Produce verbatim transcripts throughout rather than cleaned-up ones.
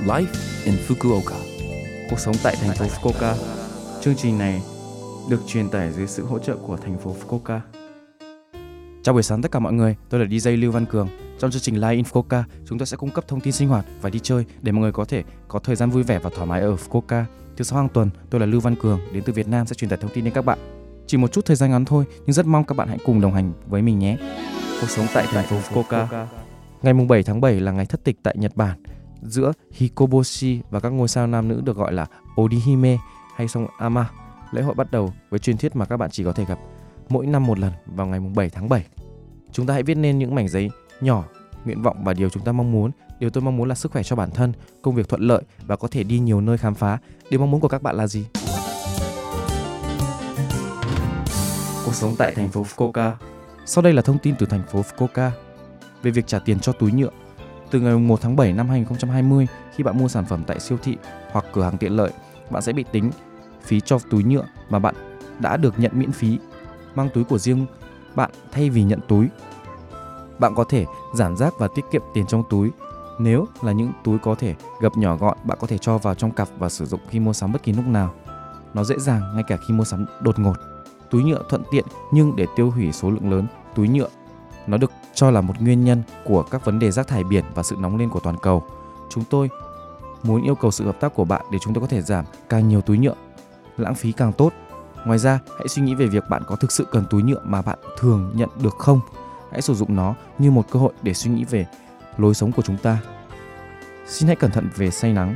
Life in Fukuoka. Cuộc sống tại thành phố Fukuoka. Chương trình này được truyền tải dưới sự hỗ trợ của thành phố Fukuoka. Chào buổi sáng tất cả mọi người, tôi là đi jay Lưu Văn Cường. Trong chương trình Live in Fukuoka, chúng tôi sẽ cung cấp thông tin sinh hoạt và đi chơi để mọi người có thể có thời gian vui vẻ và thoải mái ở Fukuoka. Thứ sáu hàng tuần, tôi là Lưu Văn Cường đến từ Việt Nam sẽ truyền tải thông tin đến các bạn. Chỉ một chút thời gian ngắn thôi, nhưng rất mong các bạn hãy cùng đồng hành với mình nhé. Cuộc sống tại thành phố Fukuoka. Ngày bảy tháng bảy là ngày thất tịch tại Nhật Bản, giữa Hikoboshi và các ngôi sao nam nữ được gọi là Orihime hay sông Ama. Lễ hội bắt đầu với truyền thuyết mà các bạn chỉ có thể gặp mỗi năm một lần vào ngày bảy tháng bảy. Chúng ta hãy viết nên những mảnh giấy nhỏ nguyện vọng và điều chúng ta mong muốn. Điều tôi mong muốn là sức khỏe cho bản thân, công việc thuận lợi và có thể đi nhiều nơi khám phá. Điều mong muốn của các bạn là gì? Cuộc sống tại thành phố Fukuoka. Sau đây là thông tin từ thành phố Fukuoka về việc trả tiền cho túi nhựa. Từ ngày một tháng bảy năm hai nghìn không trăm hai mươi, khi bạn mua sản phẩm tại siêu thị hoặc cửa hàng tiện lợi, bạn sẽ bị tính phí cho túi nhựa mà bạn đã được nhận miễn phí. Mang túi của riêng bạn thay vì nhận túi. Bạn có thể giảm rác và tiết kiệm tiền trong túi. Nếu là những túi có thể gập nhỏ gọn, bạn có thể cho vào trong cặp và sử dụng khi mua sắm bất kỳ lúc nào. Nó dễ dàng ngay cả khi mua sắm đột ngột. Túi nhựa thuận tiện nhưng để tiêu hủy số lượng lớn túi nhựa. Nó được cho là một nguyên nhân của các vấn đề rác thải biển và sự nóng lên của toàn cầu. Chúng tôi muốn yêu cầu sự hợp tác của bạn để chúng tôi có thể giảm càng nhiều túi nhựa, lãng phí càng tốt. Ngoài ra, hãy suy nghĩ về việc bạn có thực sự cần túi nhựa mà bạn thường nhận được không. Hãy sử dụng nó như một cơ hội để suy nghĩ về lối sống của chúng ta. Xin hãy cẩn thận về say nắng.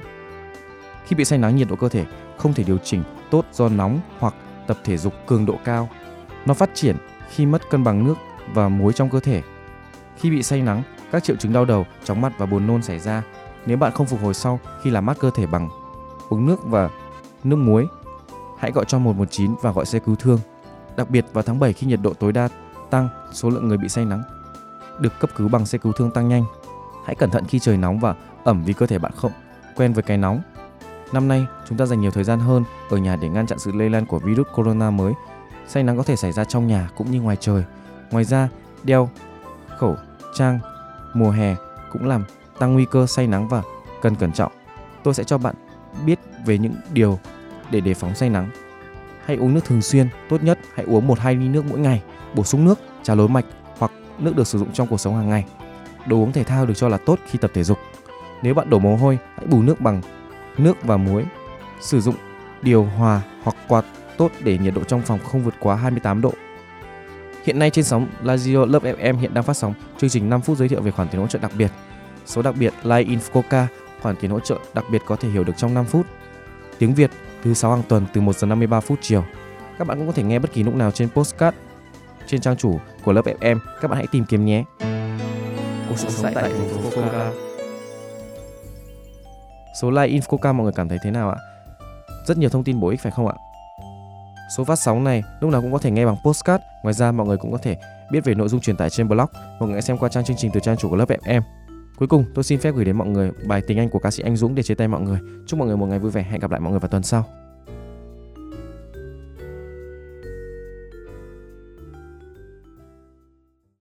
Khi bị say nắng, nhiệt độ cơ thể không thể điều chỉnh tốt do nóng hoặc tập thể dục cường độ cao. Nó phát triển khi mất cân bằng nước và muối trong cơ thể. Khi bị say nắng, các triệu chứng đau đầu, chóng mặt và buồn nôn xảy ra. Nếu bạn không phục hồi sau khi làm mát cơ thể bằng uống nước và nước muối, hãy gọi cho một một chín và gọi xe cứu thương. Đặc biệt vào tháng bảy khi nhiệt độ tối đa tăng, số lượng người bị say nắng được cấp cứu bằng xe cứu thương tăng nhanh. Hãy cẩn thận khi trời nóng và ẩm vì cơ thể bạn không quen với cái nóng. Năm nay, chúng ta dành nhiều thời gian hơn ở nhà để ngăn chặn sự lây lan của virus corona mới. Say nắng có thể xảy ra trong nhà cũng như ngoài trời. Ngoài ra, đeo khẩu trang mùa hè cũng làm tăng nguy cơ say nắng và cần cẩn trọng. Tôi sẽ cho bạn biết về những điều để đề phóng say nắng. Hãy uống nước thường xuyên, tốt nhất hãy uống một đến hai ly nước mỗi ngày, bổ sung nước, trà lối mạch hoặc nước được sử dụng trong cuộc sống hàng ngày. Đồ uống thể thao được cho là tốt khi tập thể dục. Nếu bạn đổ mồ hôi, hãy bù nước bằng nước và muối. Sử dụng điều hòa hoặc quạt tốt để nhiệt độ trong phòng không vượt quá hai mươi tám độ. Hiện nay trên sóng Radio Love ép em hiện đang phát sóng chương trình năm phút giới thiệu về khoản tiền hỗ trợ đặc biệt. Số đặc biệt Live in Fukuoka, khoản tiền hỗ trợ đặc biệt có thể hiểu được trong năm phút. Tiếng Việt thứ sáu hàng tuần từ một giờ năm mươi ba phút chiều. Các bạn cũng có thể nghe bất kỳ lúc nào trên podcast trên trang chủ của Love ép em. Các bạn hãy tìm kiếm nhé. Cuộc sống tại thành phố Fukuoka. Số Live in Fukuoka mọi người cảm thấy thế nào ạ? Rất nhiều thông tin bổ ích phải không ạ? Số phát sóng này lúc nào cũng có thể nghe bằng podcast. Ngoài ra mọi người cũng có thể biết về nội dung truyền tải trên blog. Mọi người hãy xem qua trang chương trình từ trang chủ của Love ép em. Cuối cùng tôi xin phép gửi đến mọi người bài Tình Anh của ca sĩ Anh Dũng để chia tay mọi người. Chúc mọi người một ngày vui vẻ. Hẹn gặp lại mọi người vào tuần sau.